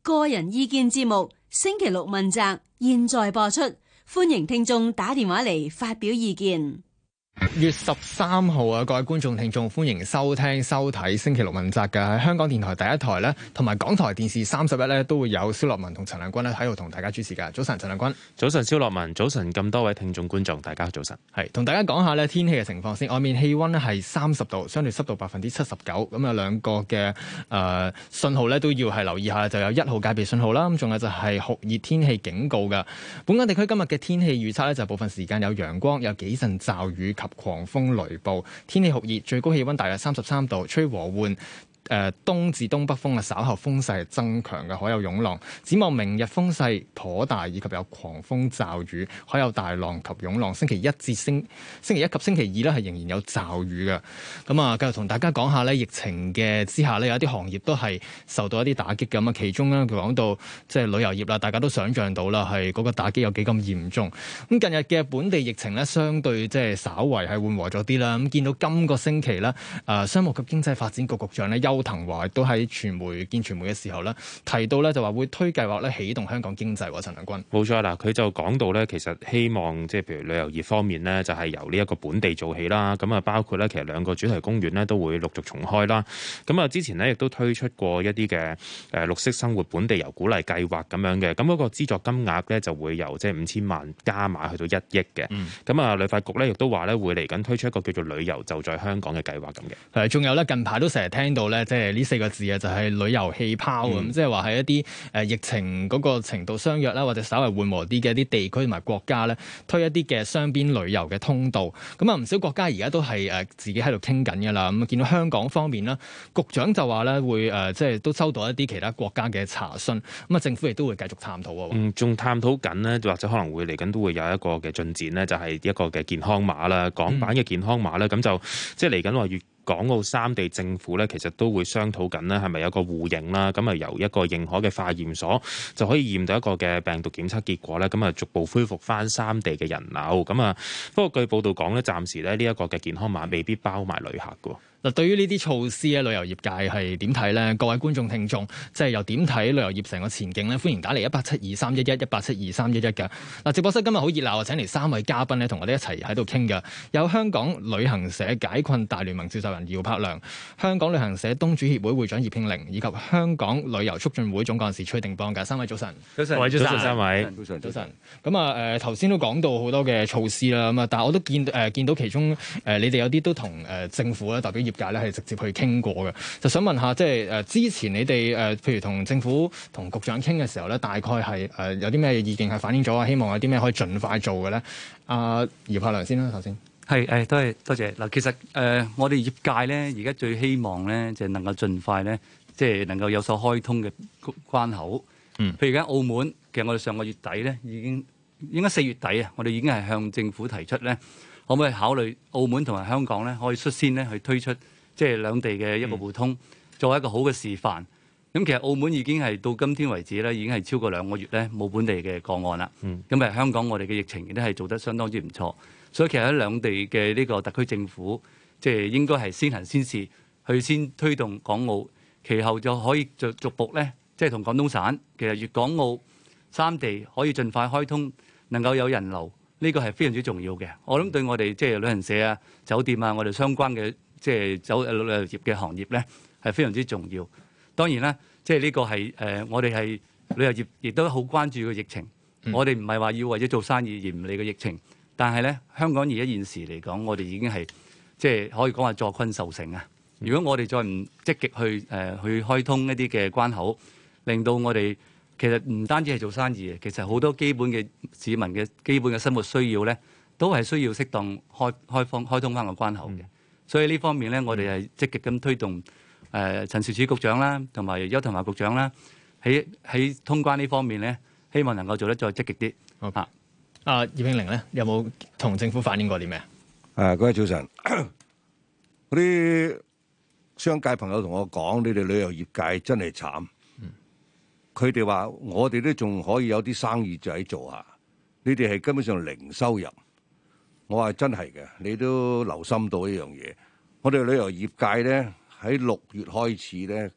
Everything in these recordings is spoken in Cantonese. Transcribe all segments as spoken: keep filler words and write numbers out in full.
個人意見節目星期六問責，現在播出，歡迎聽眾打電話嚟發表意見。 月十三號啊，各位觀眾聽眾歡迎收聽收睇星期六問責嘅，喺香港電台第一台咧，同埋港台電視三十一咧都會有蕭樂文同陳亮君咧喺度同大家主持噶。早晨，陳亮君。早晨，蕭樂文。早晨，咁多位聽眾觀眾，大家早晨。係同大家講下咧天氣嘅情況先。外面氣溫咧係三十度，相對濕度百分之七十九。咁有兩個嘅誒信號咧都要係留意下，就有一號戒備信號啦。咁仲有就係酷熱天氣警告噶。本港地區今日嘅天氣預測咧就部分時間有陽光，有幾陣驟雨及狂風雷暴，天氣酷熱，最高氣溫大約三十三度，吹和緩誒、呃、東至東北風啊，稍後風勢增強嘅，海有湧浪。展望明日風勢頗大，以及有狂風驟雨，海有大浪及湧浪。星期一至星星期一及星期二咧係仍然有驟雨嘅。咁啊，繼續同大家講下咧，疫情嘅之下咧，有一啲行業都係受到一啲打擊嘅。咁啊，其中咧佢講到即係旅遊業啦，大家都想象到啦，係嗰個打擊有幾咁嚴重。咁近日嘅本地疫情咧，相對即係稍為係緩和咗啲啦。咁見到今個星期咧，誒、呃、商務及經濟發展局局長咧邱騰華都喺傳媒見傳媒嘅時候咧，提到咧就話會推計劃咧起動香港經濟。陳亮君， 冇錯啦，佢就講到咧，其實希望即係譬如旅遊業方面咧，就係由呢一個本地做起啦。咁啊，包括咧其實兩個主題公園咧都會陸續重開啦。咁啊，之前咧亦都推出過一啲嘅誒綠色生活本地遊鼓勵計劃咁樣嘅。咁嗰個資助金額咧就會由即係五千萬加碼去到一億嘅。咁啊、嗯，旅發局咧亦都話咧會嚟緊推出一個叫做旅遊就在香港嘅計劃咁嘅。 係，仲有咧近排都成日聽到咧。即係呢四個字啊，就係旅遊氣泡咁，即係話係一啲誒疫情嗰個程度相若啦，或者稍為緩和啲嘅一啲地區同埋國家咧，推一啲嘅雙邊旅遊嘅通道。咁啊，唔少國家而家都係誒自己喺度傾緊㗎啦。咁啊，見到香港方面啦，局長就話咧會誒，即係都收到一啲其他國家嘅查詢。咁啊，政府亦都會繼續探討喎。 嗯，仲探討緊呢，或者可能會嚟緊都會有一個嘅進展呢，就係一個嘅健康碼啦，港版嘅健康碼咧，咁、嗯、就即係嚟緊話越港澳三地政府咧，其實都會商討緊呢係咪有個互認啦？咁啊，由一個認可嘅化驗所就可以驗到一個嘅病毒檢測結果咧，咁啊，逐步恢復翻三地嘅人流。咁啊，不過據報道講咧，暫時咧呢一個嘅健康碼未必包埋旅客㗎。 嗱，對於呢啲措施咧，旅遊業界係點睇咧？各位觀眾聽眾，即係又點睇旅遊業成個前景咧？歡迎打嚟一八七二三一一一八七二三一一嘅。嗱，直播室今日好熱鬧啊！請嚟三位嘉賓咧，同我哋一齊喺度傾嘅。有香港旅行社解困大聯盟召集人姚柏良、香港旅行社東主協會會長葉慶玲，以及香港旅遊促進會總幹事崔定邦嘅。三位早晨， 早晨，早晨，三位， 早晨，早晨。咁啊，誒頭先都講到好多嘅措施啦，咁啊，但係我都見誒、呃、見到其中誒、呃、你哋有啲都同誒、呃、政府咧代表業界咧係直接去傾過嘅，就想問下，即係誒之前你哋誒，譬如同政府同局長傾嘅時候咧，大概係誒有啲咩意見係反映咗啊？希望有啲咩可以盡快做嘅咧？阿、呃、姚柏良先啦，頭先係誒，多謝多謝嗱。其實誒、呃，我哋業界咧，而家最希望咧，就能夠盡快咧，即係能夠有所開通嘅關口。嗯，譬如而家澳門，其實我哋上個月底咧，已經應該四月底啊，我哋已經係向政府提出咧，可唔可以考慮澳門同埋香港咧，可以率先咧去推出。即係兩地嘅一個互通，作為一個好嘅示範。咁其實澳門已經係到今天為止咧，已經係超過兩個月咧冇本地嘅個案啦。咁誒、嗯、香港我哋嘅疫情亦都係做得相當之唔錯。所以其實喺兩地嘅呢個特區政府，即係應該係先行先試，去先推動港澳，其後就可以逐逐步咧，即係同廣東省其實粵港澳三地可以盡快開通，能夠有人流，呢、這個係非常之重要嘅。我諗對我哋即係旅行社啊、酒店啊，我哋相關嘅。即係走旅遊業嘅行業咧，係非常之重要。當然啦，即係呢個係誒、呃，我哋係旅遊業，亦都好關注個疫情。嗯、我哋唔係話要為咗做生意而唔理個疫情，但係咧，香港而家現時嚟講，我哋已經係即係可以講話坐困受成啊。如果我哋再唔積極去誒、呃、去開通一啲嘅關口，令到我哋其實唔單止係做生意嘅，其實好多基本嘅市民嘅基本嘅生活需要咧，都係需要適當開開放開通翻個關口嘅。嗯所以呢方面咧，我哋係積極咁推動誒、呃、陳肇始局長啦，同埋邱騰華局長啦，喺喺通關呢方面咧，希望能夠做得再積極啲。好啊， 啊葉慶玲咧，有冇同政府反映過啲咩？ 誒，各位早晨，嗰啲商界朋友同我講，你哋旅遊業界真係慘。佢哋話我哋都仲可以有啲生意仔做下，你哋係根本上零收入。我話真係嘅，你都留心到一樣嘢。我哋旅遊業界咧喺六月開始咧，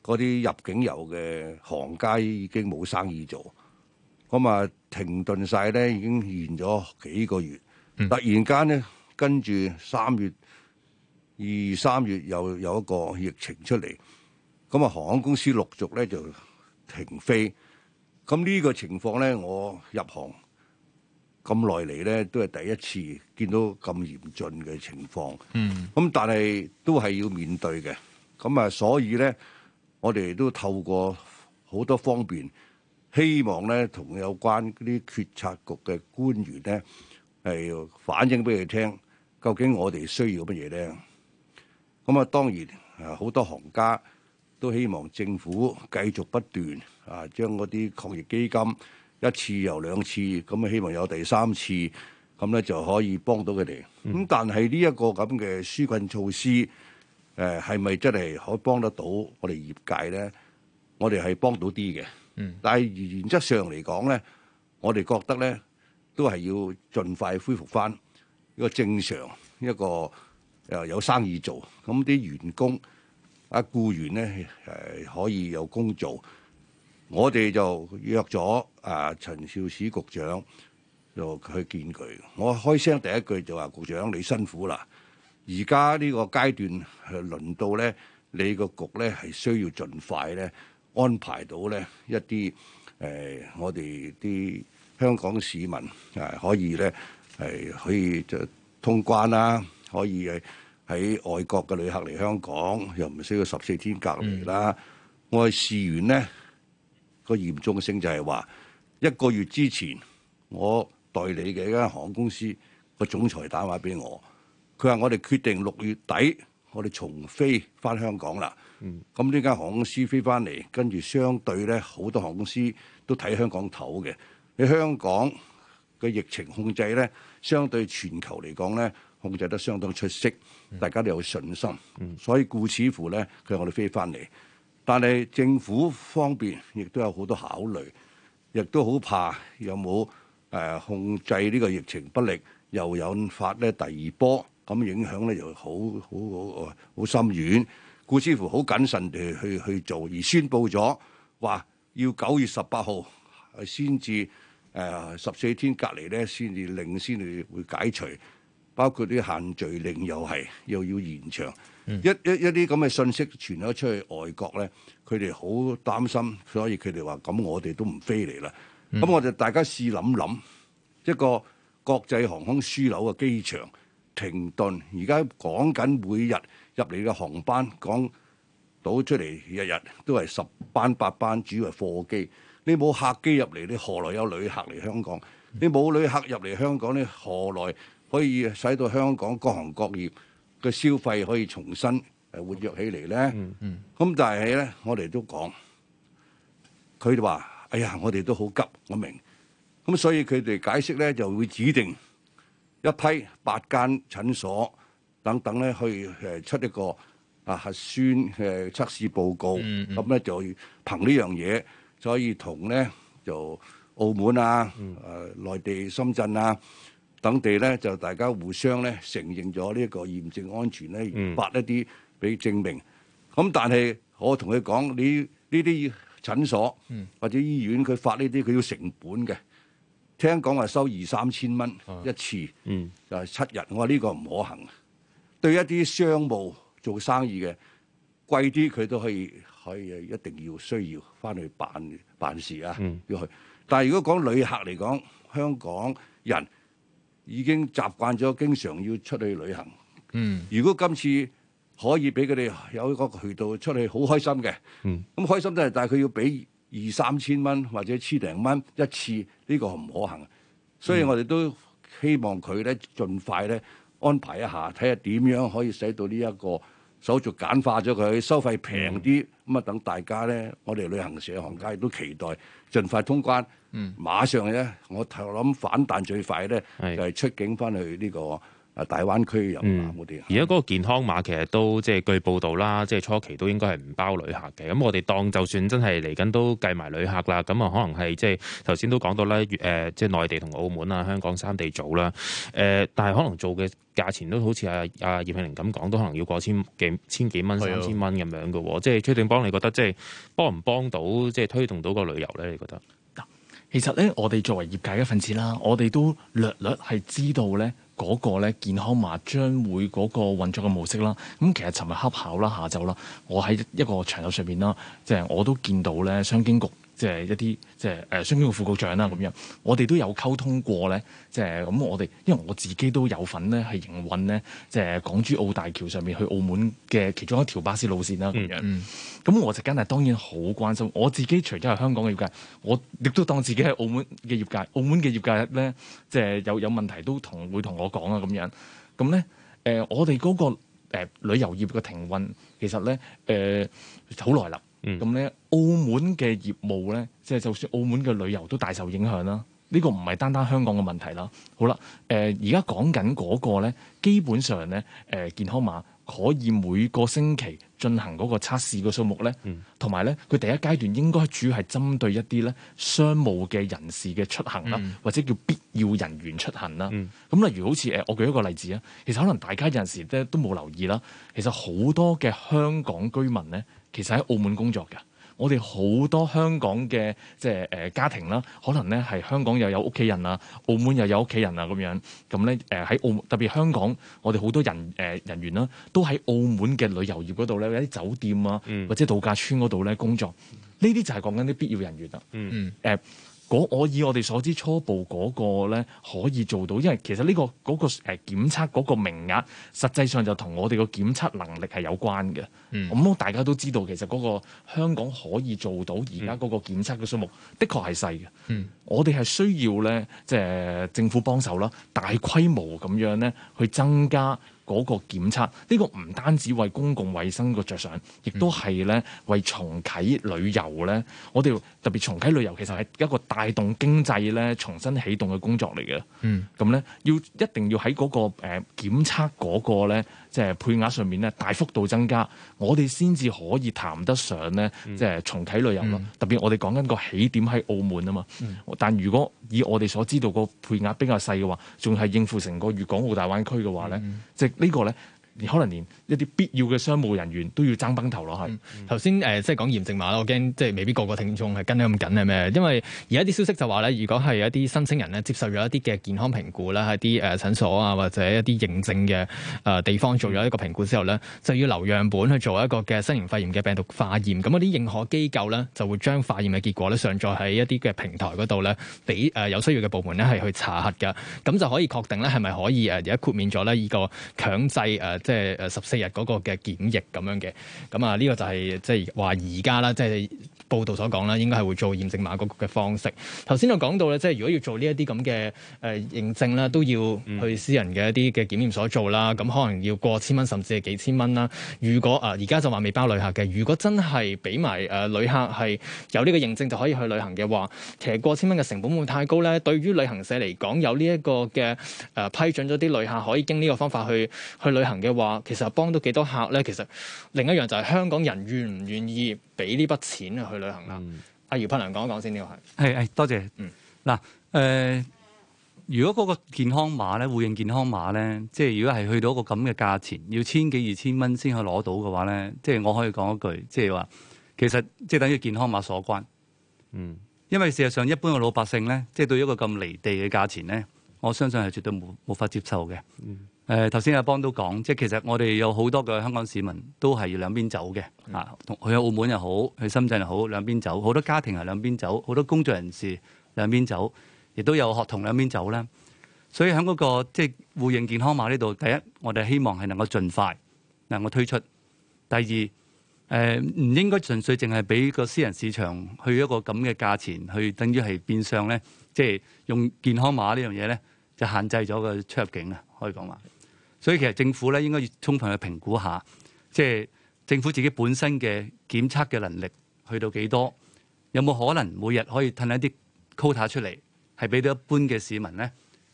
嗰啲入境遊嘅行家已經冇生意做，咁啊停頓晒咧，已經延咗幾個月。嗯、突然間咧，跟住三月二三月又有一個疫情出嚟，咁啊航空公司陸續咧就停飛。咁呢個情況咧，我入行咁耐嚟咧，都係第一次見到咁嚴峻嘅情況。嗯，咁但係都係要面對嘅。咁啊，所以咧，我哋都透過好多方面，希望咧同有關嗰啲決策局嘅官員咧，係反映俾佢聽，究竟我哋需要乜嘢咧？咁啊，當然啊，好多行家都希望政府繼續不斷啊，將嗰啲抗疫基金一次又兩次，咁啊希望有第三次，咁咧就可以幫到佢哋。咁、嗯、但係呢一個咁嘅紓困措施，誒係咪真係可以幫得到我哋業界咧？我哋係幫到啲嘅，嗯、但係原則上嚟講咧，我哋覺得咧都係要盡快恢復翻一個正常一個誒有生意做，咁啲員工啊僱員咧誒可以有工做。我哋就約咗啊陳肇始局長就去見佢。我開聲第一句就話：局長你辛苦啦，而家呢個階段係輪到咧，你個局咧係需要盡快咧安排到咧一啲誒、呃、我哋啲香港市民啊可以咧係可以就通關啦，可以係喺外國嘅旅客嚟香港又唔需要十四天隔離啦。嗯、我哋試完咧。個嚴重性就係話一個月之前，我代理嘅一間航空公司個總裁打電話俾我，佢話我哋決定六月底我哋重飛翻香港啦。咁呢間航空公司飛翻嚟，跟住相對咧好多航空公司都睇香港頭嘅。你香港嘅疫情控制咧，相對全球嚟講咧控制得相當出色，大家都有信心。所以故此乎咧，佢話我哋飛翻嚟。但係政府方面亦都有好多考慮，亦都好怕有冇誒、呃、控制呢個疫情不力，又引發咧第二波，咁影響咧又好好好好深遠。故此乎好謹慎地去去做，而宣布咗話要九月十八號先至誒十四天隔離咧，先至令先至會解除，包括啲限聚令又係又要延長。嗯、一一一啲咁嘅信息傳咗出去外國咧，佢哋好擔心，所以佢哋話：咁我哋都唔飛嚟啦。咁、嗯、我哋大家試諗諗，一個國際航空樞紐嘅機場停頓，而家講緊每日入嚟嘅航班講到出嚟，日日都係十班八班，主要係貨機。你冇客機入嚟，你何來有旅客嚟香港？你冇旅客入嚟香港，你何來可以使到香港各行各業嘅消費可以重新誒活躍起嚟咧？咁、嗯嗯、但係咧，我哋都講，佢哋話：哎呀，我哋都好急，我明。咁所以佢哋解釋咧，就會指定一批八間診所等等咧，去誒出一個啊核酸嘅測試報告。咁咧、嗯嗯、就憑呢樣嘢，就可以同咧就澳門啊、誒、嗯呃、內地深圳啊等地咧，就大家互相咧承認咗呢一個驗證安全咧，而發一啲俾證明。咁、嗯、但係我同佢講，你呢啲診所或者醫院佢發呢啲，佢要成本嘅。聽講話收二三千蚊一次，嗯、就係七日。我話呢個唔可行。對一啲商務做生意嘅貴啲，佢都可以可以一定要需要翻去辦辦事啊，嗯、要去。但係如果講旅客嚟講，香港人已經習慣咗，經常要出去旅行。嗯，如果今次可以俾佢哋有一個渠道出去，好開心嘅。嗯，咁開心都係，但係佢要俾二三千蚊或者千零蚊一次，呢、呢個唔可行。所以我哋都希望佢咧盡快咧安排一下，睇下點樣可以使到呢一個手續簡化咗佢，收費平啲。咁啊，等大家咧，我哋旅行社行家亦都期待盡快通關。嗯，馬上咧，我頭諗反彈最快咧，是就係出境翻去呢個啊大灣區遊覽嗰啲。 而家嗰個健康碼其實都即係據報道啦，即係初期都應該係唔包旅客嘅。咁我哋當就算真係嚟緊都計埋旅客啦，咁啊可能係即係頭先都講到咧，誒即係內地同澳門啊、香港三地組啦，誒但係可能做嘅價錢都好似阿阿葉慶玲咁講，都可能要過千幾千幾蚊、三千蚊咁樣嘅喎。即係崔定邦，你覺得即係幫唔幫到，即係推動到個旅遊咧？你覺得？ 其實咧，我哋作為業界一份子啦，我哋都略略係知道咧嗰個咧健康碼將會嗰個運作嘅模式啦。咁其實尋日恰巧啦，下晝啦，我喺一個場合上邊啦，即係我都見到咧商經局。即係一啲即係誒商經局副局長啦咁樣，我哋都有溝通過咧，即係咁我哋因為我自己都有份咧係營運咧，即係港珠澳大橋上面去澳門嘅其中一條巴士路線啦咁樣。咁、嗯嗯、我就梗係當然好關心，我自己除咗係香港嘅業界，我亦都當自己係澳門嘅業界。澳門嘅業界咧，即係有有問題都同會同我講啊咁樣。咁咧誒，我哋嗰、嗰個、呃、旅遊業嘅停運，其實咧誒好耐啦。咁咧，澳門嘅業務咧，即係就算澳門嘅旅遊都大受影響啦。呢個唔係單單香港嘅問題啦。好啦，誒而家講緊嗰個咧，基本上咧，誒、呃、健康碼可以每個星期進行嗰個測試嘅數目咧，同埋咧，佢第一階段應該主要係針對一啲咧商務嘅人士嘅出行啦，嗯、或者叫必要人員出行啦。咁、嗯、例如好似誒，我舉一個例子啊，其實可能大家有陣時咧都冇留意啦。其實好多嘅香港居民咧，其實喺澳門工作嘅。我哋好多香港嘅即係誒家庭啦，可能咧係香港又有屋企人啊，澳門又有屋企人啊咁樣，咁咧誒喺澳門特別香港，我哋好多人誒、呃、人員啦，都喺澳門嘅旅遊業嗰度咧，有啲酒店啊，或者度假村嗰度咧工作，呢啲就係講緊啲必要人員啦。嗯誒。呃我以我哋所知初步嗰個咧可以做到，因為其實呢、這個嗰、那個誒、呃、檢測嗰個名額，實際上就同我哋個檢測能力係有關嘅。咁、嗯、大家都知道，其實嗰個香港可以做到而家嗰個檢測嘅數目，的確係細嘅。嗯、我哋係需要咧，即、就、係、是、政府幫手啦，大規模咁樣咧去增加嗰個檢測。呢、這個唔單止為公共衛生個着想，亦都係咧為重啟旅遊咧。我哋特別重啟旅遊，其實係一個帶動經濟咧重新起動嘅工作嚟嘅。嗯，咁咧要一定要喺嗰、那個誒、呃、檢測嗰個咧，即係配額上面咧大幅度增加，我哋先至可以談得上咧，即係重啟旅遊咯。嗯、特別我哋講緊個起點喺澳門啊嘛。嗯、但如果以我哋所知道個配額比較細嘅話，仲係應付成個粵港澳大灣區嘅話咧，嗯、即係呢個咧。可能連一啲必要嘅商務人員都要爭崩頭咯，係頭先誒，即係講驗證碼啦，我驚即係未必個個聽眾係跟得咁緊係咩？因為而家啲消息就話咧，如果係一啲申請人咧接受咗一啲嘅健康評估啦，喺啲誒診所啊或者一啲認證嘅誒地方做咗一個評估之後咧，就要留樣本去做一個嘅新型肺炎嘅病毒化驗。咁嗰啲認可機構咧就會將化驗嘅結果咧上載喺一啲嘅平台嗰度咧，俾誒有需要嘅部門咧係去查核㗎。咁就可以確定咧係咪可以誒而家豁免咗咧呢個強制誒。即係誒十四日嗰個嘅檢疫咁樣嘅，咁啊呢個就係即係話而家啦，即係報道所講啦，應該係會做驗證碼嗰個嘅方式。頭先我講到咧，即係如果要做呢一啲咁嘅誒認證啦，都要去私人嘅一啲嘅檢驗所做啦，咁可能要過千蚊甚至係幾千蚊啦。如果啊而家就話未包旅客嘅，如果真係俾埋誒旅客係有呢個認證就可以去旅行嘅話，其實過千蚊嘅成本會唔會太高咧？對於旅行社嚟講，有呢一個嘅誒、呃、批准咗啲旅客可以經呢個方法去去旅行嘅話，其實幫到幾多客咧？其實另一樣就係香港人願唔願意俾呢筆錢去旅行啦。嗯、阿姚柏良講一講先，呢個係係係多謝。嗯，嗱誒、呃，如果嗰個健康碼咧，互認健康碼咧，即係如果係去到一個咁嘅價錢，要千幾二千蚊先可以攞到嘅話咧，即係我可以講一句，即係話其實即係等於健康碼所關。嗯，因為事實上一般嘅老百姓咧，即係對一個咁離地嘅價錢咧，我相信係絕對冇冇法接受嘅。嗯。誒頭先阿邦都講，即係其實我哋有好多嘅香港市民都係要兩邊走嘅，啊、嗯，去澳門又好，去深圳又好，兩邊走，好多家庭係兩邊走，好多工作人士兩邊走，亦都有學童兩邊走啦。所以喺嗰、那個即係互認健康碼呢度，第一我哋希望係能夠盡快能夠推出；第二誒唔、呃、應該純粹淨係俾個私人市場去一個咁嘅價錢，去等於係變相咧，即係用健康碼呢樣嘢咧，就限制咗個出入境啊，可以講話。所以其實政府咧應該要充分去評估下，即係政府自己本身嘅檢測嘅能力去到幾多，有冇可能每日可以褪一啲 quota 出嚟，係俾到一般嘅市民咧，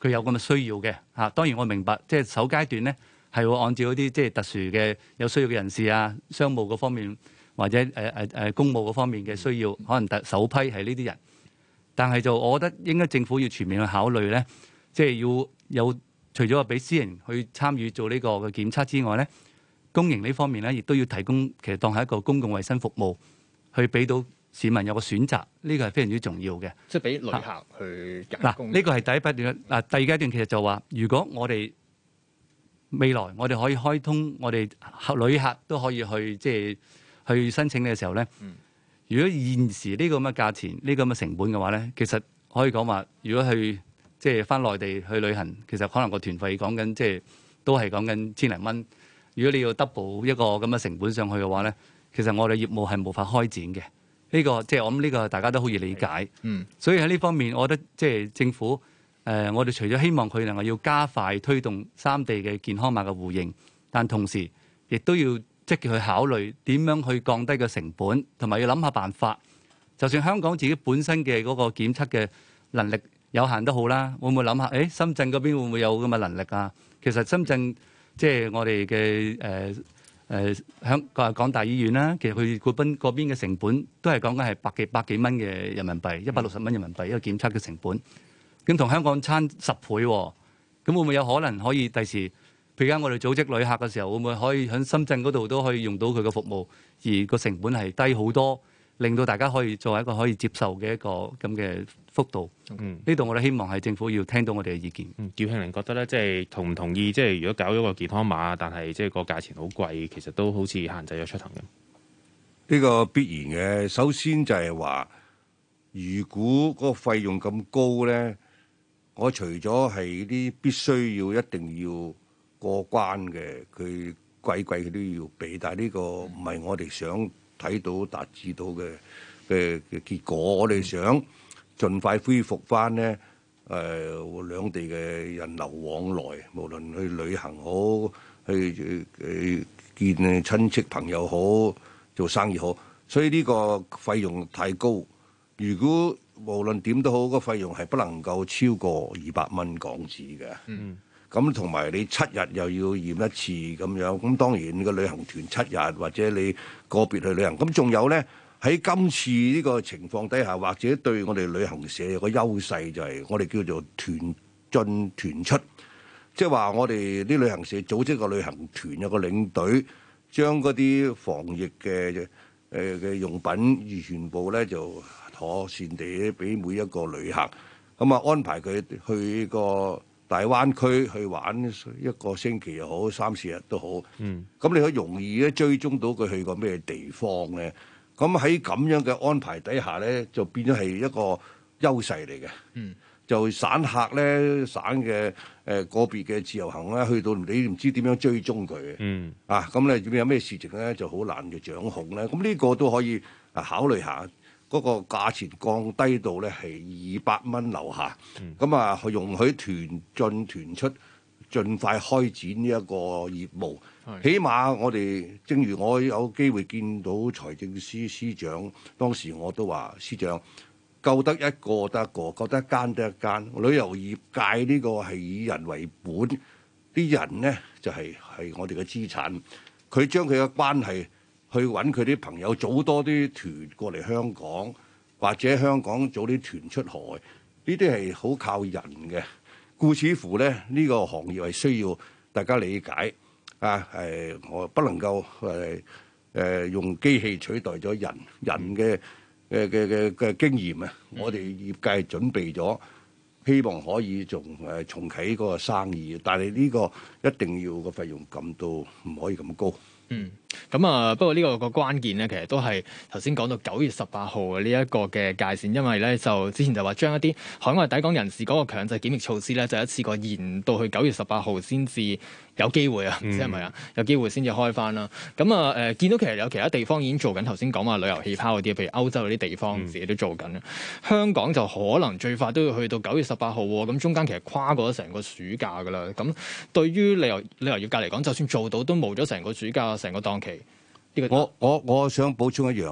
佢有咁嘅需要嘅嚇。當然我明白，即係首階段咧係會按照嗰啲即係特殊嘅有需要嘅人士啊，商務嗰方面或者誒誒誒公務嗰方面嘅需要，可能特首批係呢啲人。但係就我覺得應該政府要全面去考慮咧，即係要有除咗話俾私人去參與做呢個嘅檢測之外咧，公營呢方面咧亦都要提供，其實當係一個公共衛生服務，去俾到市民有個選擇，呢個係非常之重要嘅。 即係俾旅客去嗱，呢個係第一階段。嗱，第二階段其實就話，如果我哋未來我哋可以開通，我哋旅客都可以去即係去申請嘅時候咧。嗯如果現時呢個咁嘅價錢、呢個咁嘅成本嘅話咧，其實可以講話，如果去即係翻內地去旅行，其實可能個團費講緊即係都係講緊千零蚊。如果你要 double 一個咁嘅成本上去嘅話咧，其實我哋業務係無法開展嘅。呢、這個即係我諗呢個大家都好易理解。嗯，所以喺呢方面，我覺得即係政府誒、呃，我哋除咗希望佢能夠要加快推動三地嘅健康碼嘅互認，但同時亦都要積極去考慮點樣去降低個成本，同埋要諗下辦法。就算香港自己本身嘅嗰個檢測嘅能力有限都好啦，會唔會諗下？誒，深圳嗰邊會唔會有咁嘅能力啊？其實深圳即係我哋嘅誒誒香港港大醫院啦，其實佢嗰邊嗰邊嘅成本都係講緊係百幾百幾蚊嘅人民幣，一百六十蚊人民幣一個檢測嘅成本。咁同香港差十倍喎，咁會唔會有可能可以第時？譬如而家我哋組織旅客嘅時候，會唔會可以喺深圳嗰度都可以用到佢嘅服務，而個成本係低好多，令到大家可以作為一個可以接受嘅一個咁嘅幅度。嗯，呢度我哋希望係政府要聽到我哋嘅意見。 嗯，趙慶玲覺得咧，即係同唔同意？即係如果搞咗個健康碼，但係即係個價錢好貴，其實都好似限制咗出行嘅。 呢個必然嘅。首先就係話，如果嗰個費用咁高咧，我除咗係啲必須要一定要過關嘅，佢貴貴佢都要俾，但係呢個唔係我哋想睇到達至到嘅嘅嘅結果。我哋想盡快恢復翻咧，誒、呃、兩地嘅人流往來，無論去旅行好，去誒、呃、見親戚朋友好，做生意好。所以呢個費用太高，如果無論點都好，個費用係不能夠超過二百蚊港紙嘅。嗯。咁同埋你七日又要驗一次咁樣，咁當然你個旅行團七日或者你個別去旅行，咁仲有咧喺今次呢個情況底下，或者對我哋旅行社有個優勢就係我哋叫做團進團出，即係話我哋啲旅行社組織個旅行團有個領隊，將嗰啲防疫嘅誒嘅用品全部咧就妥善地俾每一個旅客，咁啊安排佢去個大灣區去玩一個星期又好，三四日都好。嗯，咁你可以容易咧追蹤到佢去過咩地方咧。咁喺咁樣嘅安排底下咧，就變咗係一個優勢嚟嘅。嗯，就散客咧，省嘅誒、呃、個別嘅自由行咧，去到你唔知點樣追蹤佢嘅。嗯，啊，咁你有咩事情咧，就好難嘅掌控咧。咁呢個都可以啊考慮下。嗰個價錢降低到咧係二百蚊樓下，咁啊、嗯、容許團進團出，盡快開展呢一個業務。是起碼我哋正如我有機會見到財政司司長，當時我都話司長救得一個得一個，救得一間得一間。旅遊業界呢個係以人為本，啲人咧就係、是、係我哋嘅資產，佢將佢嘅關係。去揾佢啲朋友組多啲團過嚟香港，或者香港組啲團出海，呢啲係好靠人嘅。故此乎咧，呢、這個行業係需要大家理解啊！誒，我不能夠誒誒用機器取代咗人，人嘅嘅嘅嘅嘅經驗啊！我哋業界準備咗，希望可以仲誒重啟嗰個生意，但係呢個一定要個費用撳到唔可以咁高。 嗯，咁啊，不過呢個個關鍵咧，其實都係頭先講到九月十八號嘅呢一個嘅界線，因為咧就之前就話將一啲海外抵港人士嗰個強制檢疫措施咧，就一次過延到去九月十八號先至有機會啊，唔知係咪啊？有機會先至開翻啦。咁啊誒，見到其實有其他地方已經做緊頭先講話旅遊氣泡嗰啲，譬如歐洲嗰啲地方自己都做緊啦。嗯、香港就可能最快都要去到九月十八號喎，咁中間其實跨過咗成個暑假噶啦。咁對於旅遊旅遊業界嚟講，就算做到都冇咗成個暑假。成個檔期，呢個我我我想補充一樣，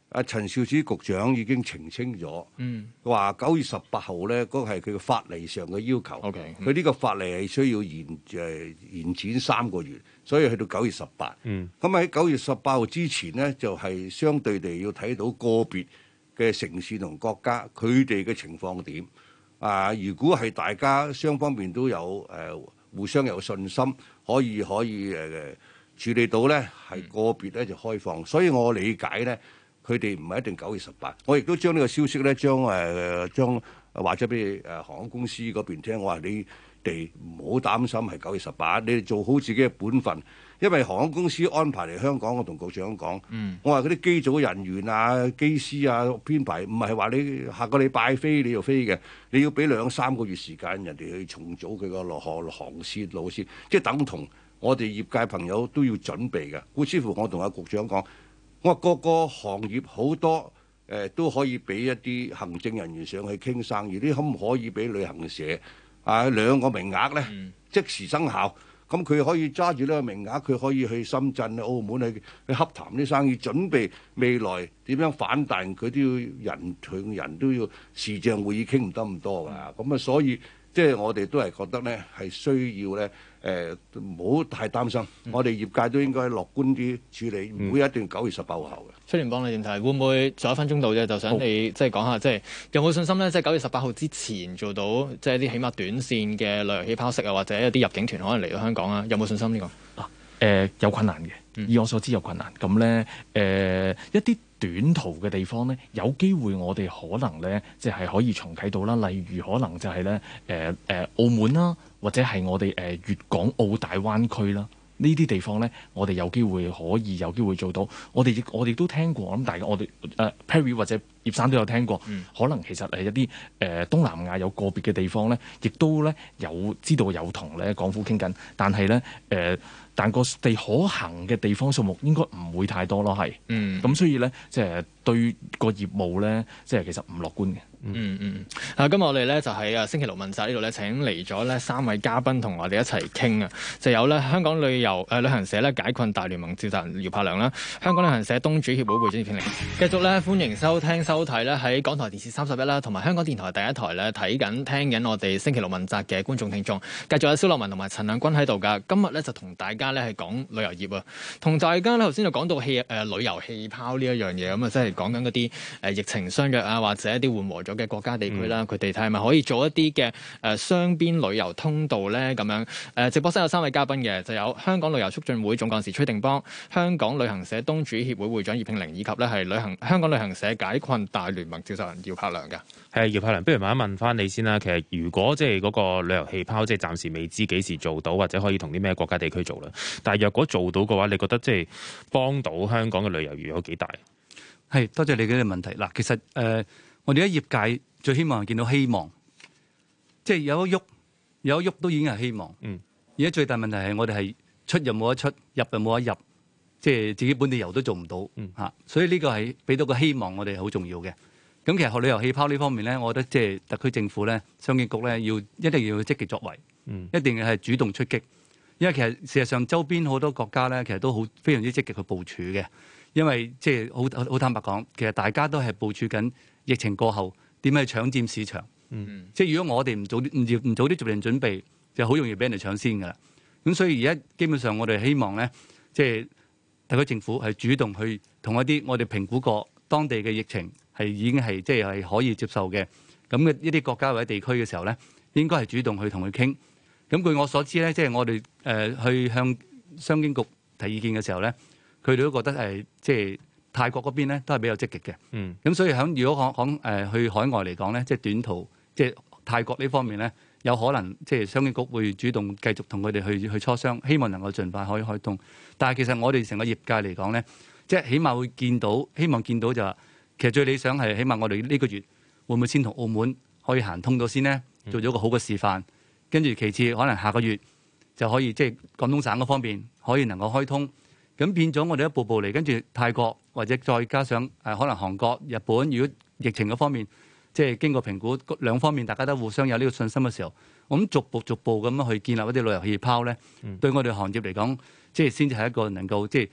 阿陳肇始局長已經澄清咗，話九月十八號咧，嗰個係佢嘅法例上嘅要求。 OK， 佢呢個法例係需要延誒延展三個月，所以去到九月十八。咁喺九月十八號之前咧，就係相對地要睇到個別嘅城市同國家佢哋嘅情況點。啊，如果係大家雙方面都有誒互相有信心，可以可以誒處理到咧，係個別咧就開放。所以我理解咧。佢哋唔係一定九月十八，我亦都將呢個消息咧，將誒將話咗俾誒航空公司嗰邊聽。我話你哋唔好擔心係九月十八，你哋做好自己嘅本分。因為航空公司安排嚟香港，我同局長講，嗯、我話嗰啲機組人員啊、機師啊編排，唔係話你下個禮拜飛你就飛嘅，你要俾兩三個月時間人哋去重組佢個落航航線路線，即係等同我哋業界朋友都要準備嘅。故此乎我同阿局長講。我話個個行業好多誒、呃、都可以俾一啲行政人員上去傾生意，啲可唔可以俾旅行社啊兩個名額咧、嗯、即時生效？咁佢可以揸住呢個名額，佢可以去深圳、澳門去去洽談啲生意，準備未來點樣反彈，佢都要人同人都要視像會議傾唔得咁多㗎。咁啊、嗯，所以即係我哋都係覺得咧係需要咧。誒唔好太擔心，嗯、我哋業界都應該樂觀啲處理，唔會一定九月十八號後嘅。 崔定邦你點睇？會唔會仲有一分鐘到啫？就想你即係講下，即係有冇信心咧？即係九月十八號之前做到，即係啲起碼短線嘅旅遊氣泡式啊，或者一啲入境團可能嚟到香港啊？有冇信心呢、呢個？嗱、啊，誒、呃、有困難嘅，嗯、以我所知有困難。咁咧誒一啲短途嘅地方咧，有機會我哋可能咧，即係可以重啟到啦。例如可能就係咧誒誒澳門啦。或者係我哋誒粵港澳大灣區啦，呢啲地方咧，我哋有機會可以有機會做到。我哋亦我哋都聽過，我諗大家我哋誒、呃、Perry 或者葉生都有聽過。嗯、可能其實係一啲誒、呃、東南亞有個別嘅地方咧，亦都咧有知道有同咧港府傾緊，但係咧誒，但個地可行嘅地方數目應該唔會太多咯，係。嗯。咁所以咧，即係對個業務咧，即係其實唔樂觀嘅。嗯嗯啊，今日我哋咧就喺啊星期六問責呢度咧請嚟咗咧三位嘉賓同我哋一齊傾啊，就有咧香港旅遊誒、呃、旅行社咧解困大聯盟召集人姚柏良啦，香港旅行社東主協會會長葉慶玲，繼續咧歡迎收聽收睇咧喺港台電視三十一啦，同埋香港電台第一台咧睇緊聽緊我哋星期六問責嘅觀眾聽眾，繼續有蕭樂文同埋陳亮君喺度噶。今日咧就同大家咧係講旅遊業啊，同大家咧頭先就講到氣誒、呃、旅遊氣泡呢一樣嘢咁啊，即係講緊嗰啲誒疫情相約啊，或者一啲緩和咗嘅國家地區啦，佢哋睇係咪可以做一啲嘅誒雙邊旅遊通道咧？咁樣誒、呃、直播室有三位嘉賓嘅，就有香港旅遊促進會總幹事崔定邦、香港旅行社東主協會會長葉慶玲，以及咧係旅行香港旅行社解困大聯盟召集人姚柏良嘅。 係姚柏良，不如問一問翻你先啦。其實如果即係嗰個旅遊氣泡，即係暫時未知幾時做到，或者可以同啲咩國家地區做啦。但係若果做到嘅話，你覺得即係幫到香港嘅旅遊業有幾大？ 係多謝你嘅問題。嗱，其實誒、呃，我哋喺業界最希望係見到希望，即係有一喐，有一喐都已經係希望。嗯。而家最大問題係我哋係出又冇得出，入又冇得入，即係自己本地遊都做唔到。嗯。嚇，所以呢個係俾到個希望，我哋係好重要嘅。咁其實學旅遊氣泡呢方面咧，我覺得即係特區政府咧、商經局咧，要一定要積極作為，嗯、一定係主動出擊。因為其實事實上周邊好多國家咧，其實都好非常之積極去部署嘅。因為即係好好坦白講，其實大家都係部署緊疫情過後點樣去搶佔市場。嗯、即係如果我哋唔早啲唔唔早啲做定準備，就好容易俾人哋搶先㗎啦。咁所以而家基本上我哋希望咧，即係特區政府係主動去同一啲我哋評估過當地嘅疫情。係已經係即係可以接受嘅咁嘅一啲國家或者地區嘅時候咧，應該係主動去同佢傾。咁據我所知咧，即係我哋誒去向商經局提意見嘅時候咧，佢哋都覺得係即係泰國嗰邊咧都係比較積極嘅。嗯。咁所以響如果講講誒去海外嚟講咧，即係短途即係泰國呢方面咧，有可能即係商經局會主動繼續同佢哋去去磋商，希望能夠盡快可以開通。但係其實我哋成個業界嚟講咧，即係起碼會見到，希望見到就話。其實最理想係，起碼我哋呢個月會唔會先同澳門可以行通咗先呢？做咗個好嘅示範，跟住其次可能下個月就可以即係廣東省嗰方面可以能夠開通，咁變咗我哋一步步嚟，跟住泰國或者再加上誒可能韓國、日本，如果疫情嗰方面即係經過評估兩方面大家都互相有呢個信心嘅時候，我諗逐步逐步咁樣去建立一啲旅遊氣泡咧，嗯、對我哋行業嚟講，即係先至係一個能夠即係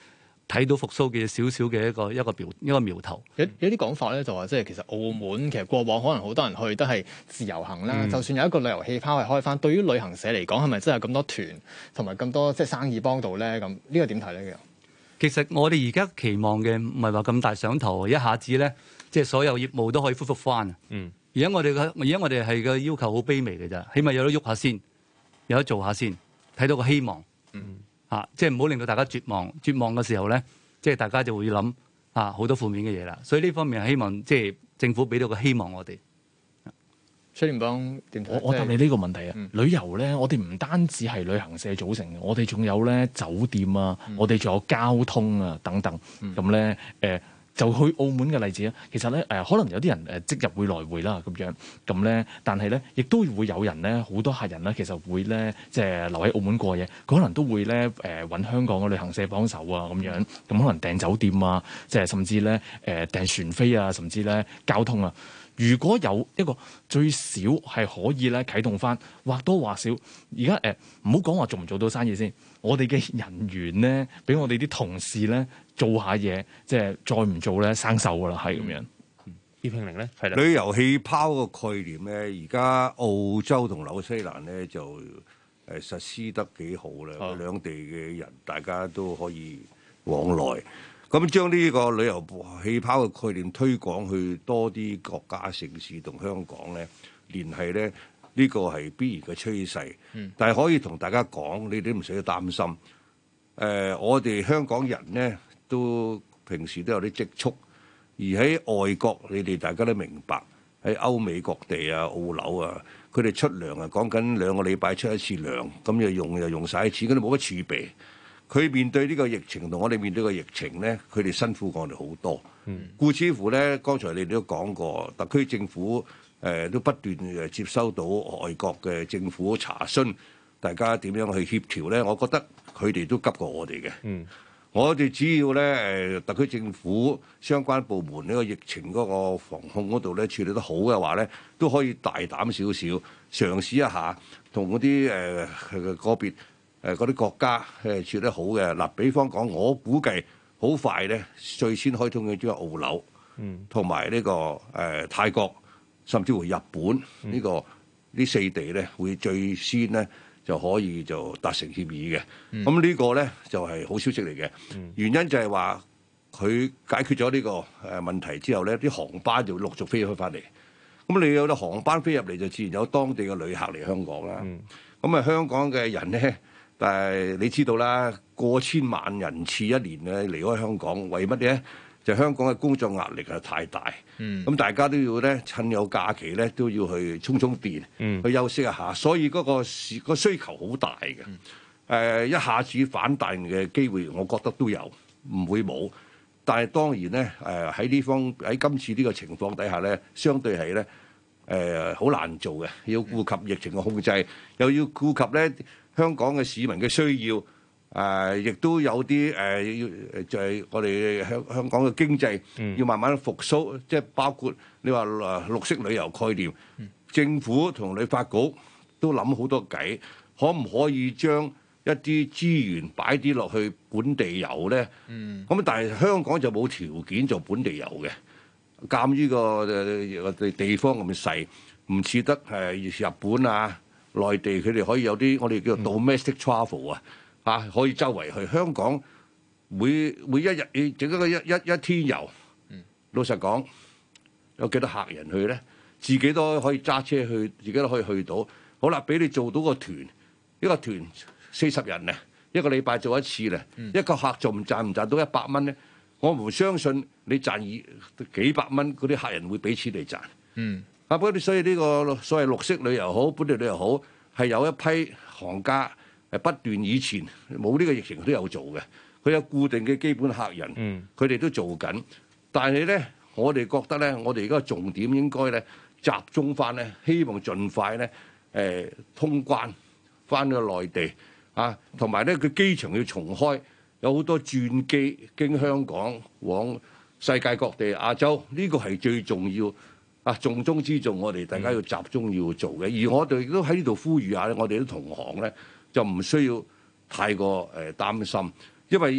睇到復甦嘅少少嘅一個一個苗一個苗頭。 有有啲講法咧，就話即係其實澳門其實過往可能好多人去都係自由行啦，嗯、就算有一個旅遊氣泡係開翻，對於旅行社嚟講係咪真係咁多團同埋咁多即係生意幫到咧？咁呢個點睇咧？ 其實我哋而家期望嘅唔係話咁大上頭，一下子咧即係所有業務都可以恢復翻。嗯，而家我哋嘅而家我哋係個要求好卑微嘅咋，起碼有得喐下先，有得做下先，睇到個希望。嗯。啊！即係唔好令到大家絕望，絕望嘅時候咧，即係大家就會諗啊好多負面嘅嘢啦。所以呢方面係希望即係政府俾到個希望我哋。 崔定邦點睇？ 我我答你呢個問題啊！嗯、旅遊咧，我哋唔單止係旅行社組成嘅，我哋仲有咧酒店啊，嗯、我哋仲有交通啊等等。咁咧誒。就去澳門嘅例子啊，其實咧誒、呃，可能有啲人誒即日會來回啦咁樣，咁咧，但係咧亦都會有人咧，好多客人咧，其實會咧即係留喺澳門過夜，佢可能都會咧誒揾香港嘅旅行社幫手啊咁樣，咁可能訂酒店啊，即係甚至咧誒、呃、訂船飛啊，甚至咧交通啊。如果有一個最少係可以咧啟動翻，或多或少，而家誒唔好講話做唔做到生意先，我哋嘅人員咧，俾我哋啲同事咧做下嘢，即係再唔做咧生鏽噶啦，係咁樣。 葉慶玲咧，係啦。 旅遊氣泡個概念咧，而家澳洲同紐西蘭咧就誒實施得幾好啦，哦、兩地嘅人大家都可以往來。咁將呢個旅遊氣泡嘅概念推廣去多啲國家城市同香港咧聯繫咧，呢個係必然嘅趨勢。嗯、但係可以同大家講，你哋都唔使擔心。誒、呃，我哋香港人咧都平時都有啲積蓄，而喺外國你哋大家都明白，喺歐美各地啊、澳紐啊，佢哋出糧啊，講緊兩個禮拜出一次糧，咁又用又用晒錢，佢哋冇乜儲備。佢面對呢個疫情同我哋面對個疫情咧，佢哋辛苦過我哋好多。嗯、故此乎咧，剛才你哋都講過，特區政府誒、呃、都不斷誒接收到外國嘅政府查詢，大家點樣去協調咧？我覺得佢哋都急過我哋嘅。嗯、我哋只要咧誒、呃、特區政府相關部門呢個疫情嗰個防控嗰度咧處理得好嘅話咧，都可以大膽少少嘗試一下，同嗰啲誒個別。誒嗰啲國家誒處理得好嘅嗱，比方講，我估計好快咧，最先開通嘅即係澳紐，同埋呢個誒、呃、泰國，甚至乎日本呢、呢個呢、嗯、四地咧，會最先咧就可以就達成協議嘅。咁、嗯、呢個咧就係、是、好消息嚟嘅，嗯、原因就係話佢解決咗呢個誒問題之後咧，啲航班就陸續飛開翻嚟。咁你有啲航班飛入嚟，就自然有當地嘅旅客嚟香港啦。咁啊、嗯，香港嘅人咧。但係你知道啦，過千萬人次一年咧離開香港，為乜嘢？就香港嘅工作壓力係太大，咁、嗯、大家都要咧趁有假期咧都要去充充電，嗯、去休息一下。所以嗰個需個需求好大嘅，誒、嗯呃、一下子反彈嘅機會，我覺得都有，唔會冇。但係當然咧，誒喺呢方喺今次呢個情況底下咧，相對係咧誒好難做嘅，要顧及疫情嘅控制，又要顧及咧。香港嘅市民嘅需要，誒、呃，亦都有啲誒，要、呃、就係、是、我哋香香港嘅經濟要慢慢復甦，即係包括你話誒綠色旅遊概念，嗯、政府同旅發局都諗好多計，可唔可以將一啲資源擺啲落去本地遊咧？咁、嗯、但係香港就冇條件做本地遊嘅，鑑於個我哋地方咁細，唔似得誒日本啊。內地佢哋可以有啲我哋叫做 domestic travel 啊，嚇可以周圍去。香港每每一日你整一個一一一天遊，老實講有幾多客人去咧？自己都可以揸車去，自己都可以去到。好啦，俾你做到個團，一個團四十人咧，一個禮拜做一次咧，嗯、一個客賺唔賺唔賺到一百蚊咧？我唔相信你賺二幾百蚊，嗰啲客人會俾錢你賺。嗯。啊！不過所以呢個所謂綠色旅遊好，本地旅遊好，係有一批行家係不斷以前冇呢個疫情都有做嘅，佢有固定嘅基本客人，佢哋、嗯、都做緊。但係咧，我哋覺得咧，我哋而家重點應該咧集中翻咧，希望盡快咧誒、呃、通關翻去內地啊，同埋咧佢機場要重開，有好多轉機經香港往世界各地、亞洲，呢、這個係最重要。啊，重中之重，我哋大家要集中要做嘅。而我哋亦都喺呢度呼籲下咧，我哋啲同行咧就唔需要太過誒擔心，因為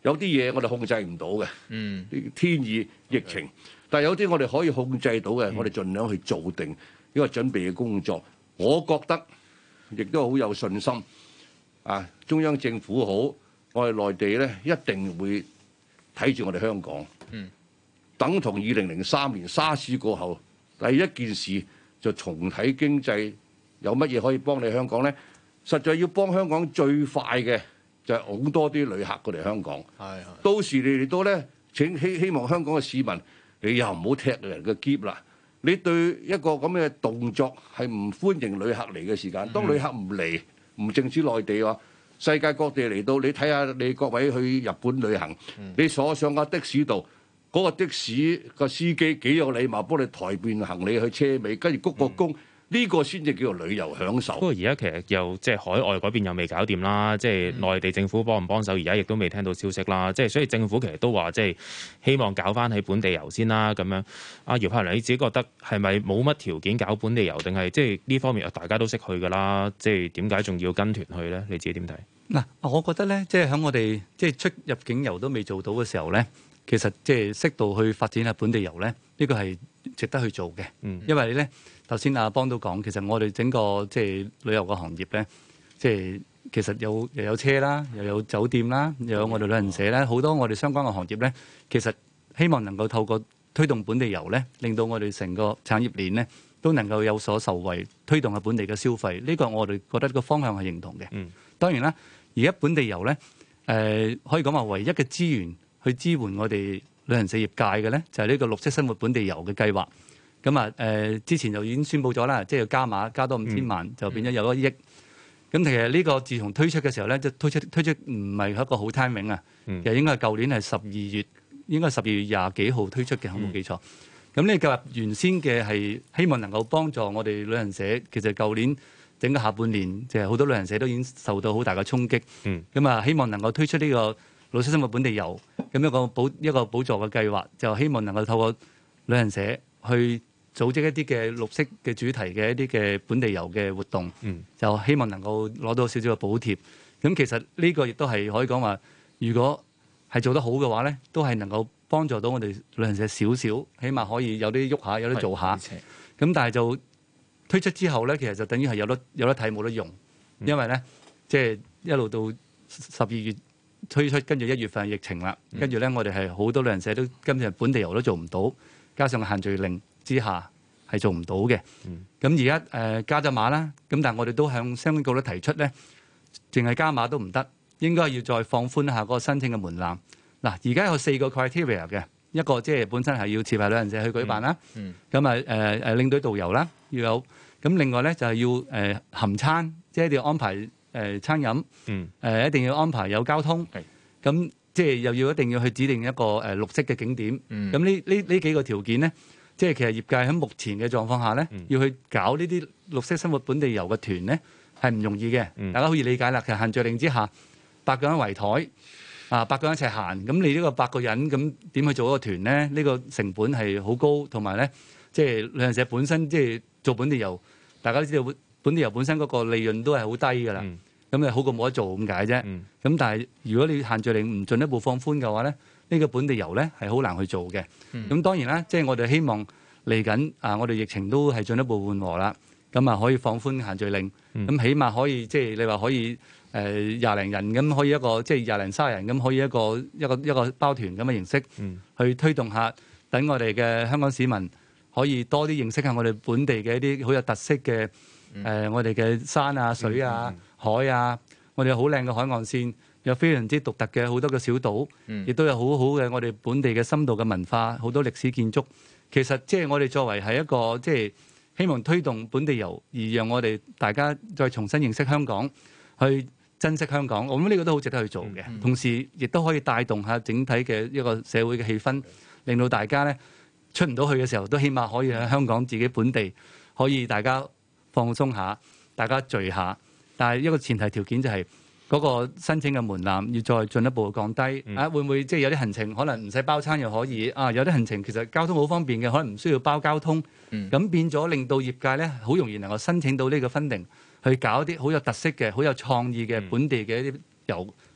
有啲嘢我哋控制唔到嘅， 嗯， 天意疫情，但係有啲我哋可以控制到嘅， 嗯、 我哋盡量去做定呢個準備嘅工作。我覺得亦都好有信心啊！中央政府好，我哋內地咧一定會睇住我哋香港。 嗯， 等同二零零三年沙士過後，第一件事就重睇經濟，有乜嘢可以幫你香港咧？實在要幫香港最快嘅。就係好多啲旅客過嚟香港， 係係。 到時你哋都咧請希希望香港嘅市民，你又唔好踢人嘅篋啦。你對一個咁嘅動作係唔歡迎旅客嚟嘅時間，當旅客唔嚟，唔淨止內地喎，世界各地嚟到，你睇下你各位去日本旅行，你坐上架的士度，嗰、嗰個的士個司機幾有禮貌，幫你抬便行李去車尾，跟住鞠個躬。呢個先至叫做旅遊享受。 不過而家其實又即係海外嗰邊又未搞掂啦，即係內地政府幫唔幫手，而家亦都未聽到消息啦。即係所以政府其實都話即係希望搞翻喺本地遊先啦。咁樣，阿姚柏良你自己覺得係咪冇乜條件搞本地遊，定係即係呢方面大家都識去㗎啦？即係點解仲要跟團去咧？你自己點睇？ 嗱，我覺得咧，即係喺我哋即係出入境遊都未做到嘅時候咧，其實即係適度去發展下本地遊咧，呢個係值得去做嘅。嗯，因為咧。頭先阿邦都講，其實我哋整個即係旅遊嘅行業咧，即係其實有又有車啦，又有酒店啦，又有我哋旅行社啦，好多我哋相關嘅行業咧，其實希望能夠透過推動本地遊咧，令到我哋成個產業鏈咧都能夠有所受惠，推動下本地嘅消費。呢個我哋覺得個方向係認同嘅。嗯，當然啦，而家本地遊咧，誒可以講話唯一嘅資源去支援我哋旅行社業界嘅咧，就係呢個綠色生活本地遊嘅計劃。咁啊，誒、呃、之前就已經宣布咗啦，即係要加碼，加多五千萬，就變咗有一億。咁、嗯、其實呢個自從推出嘅時候咧，就推出推出唔係一個好 timing 啊、嗯，其實應該係舊年係十二月，應該係十二月廿幾號推出嘅，我冇記錯。咁呢個計劃原先嘅係希望能夠幫助我哋旅行社，其實舊年整個下半年，即係好多旅行社都已經受到好大嘅衝擊。咁、嗯、啊，希望能夠推出呢個綠色生活本地遊，咁一個補一個補助嘅計劃，就希望能夠透過旅行社去組織一啲嘅綠色嘅主題嘅一啲嘅本地遊嘅活動，嗯、就希望能夠攞到少少嘅補貼。咁其實呢個亦都係可以講話，如果係做得好嘅話咧，都係能夠幫助到我哋旅行社少少，起碼可以有啲喐下，有啲做下。咁但係就推出之後咧，其實就等於係有得有得睇冇得用，因為咧即係一路到十二月推出，跟住一月份疫情啦，跟住咧我哋係好多旅行社都今日本地遊都做唔到，加上限聚令之下係做唔到嘅，咁而家誒加咗碼啦，咁但係我哋都向相關局咧提出咧，淨係加碼都唔得，應該要再放寬一下嗰個申請嘅門檻。嗱，而家有四個 criteria 嘅，一個即係本身係要持牌旅行社去舉辦啦，咁啊誒誒領隊導遊啦要有，咁另外咧就係要誒、呃、含餐，即係一定要安排誒、呃、餐飲，誒、嗯呃、一定要安排有交通，咁即係又要一定要去指定一個誒、呃、綠色嘅景點，咁呢呢呢幾個條件咧。即係其實業界喺目前嘅狀況下咧，嗯、要去搞呢啲綠色生活本地遊嘅團咧，係唔容易嘅。嗯、大家可以理解啦。其實限聚令之下，八個人圍台啊，八個人一齊行，咁你呢個八個人咁點去做一個團咧？呢、呢個成本係好高，同埋咧，即係旅行社本身即係做本地遊，大家都知道本地遊本身嗰個利潤都係好低㗎啦。咁你、嗯、好過冇得做咁解啫。咁、嗯、但係如果你限聚令唔進一步放寬嘅話咧，呢個本地遊咧係好難去做嘅，咁、嗯、當然啦，即、就、係、是、我哋希望嚟緊啊，我哋疫情都係進一步緩和啦，咁啊可以放寬限聚令，咁、嗯、起碼可以即係、就是、你話可以誒廿零人咁可以一個即係廿零卅人咁可以一個一個一個包團咁嘅形式，嗯、去推動下，等我哋嘅香港市民可以多啲認識下我哋本地嘅一啲好有特色嘅誒、嗯呃、我哋嘅山啊水啊、嗯、海啊，我哋有好靚嘅海岸線。有非常之獨特嘅好多嘅小島，亦都有好好嘅我哋本地嘅深度嘅文化，好多歷史建築。其實即係我哋作為係一個即係希望推動本地遊，而讓我哋大家再重新認識香港，去珍惜香港。我諗呢個都好值得去做嘅。嗯嗯、同時亦都可以帶動下整體嘅一個社會嘅氣氛，令到大家咧出唔到去嘅時候，都起碼可以喺香港自己本地可以大家放鬆下，大家聚下。但係一個前提條件就係、是。嗰個申請嘅門檻要再進一步降低，嗯、啊會唔會即係有啲行程可能唔使包餐又可以啊？有啲行程其實交通好方便嘅，可能唔需要包交通，咁、嗯、變咗令到業界咧好容易能夠申請到呢個 funding，去搞一啲好有特色嘅、好有創意嘅本地嘅一啲遊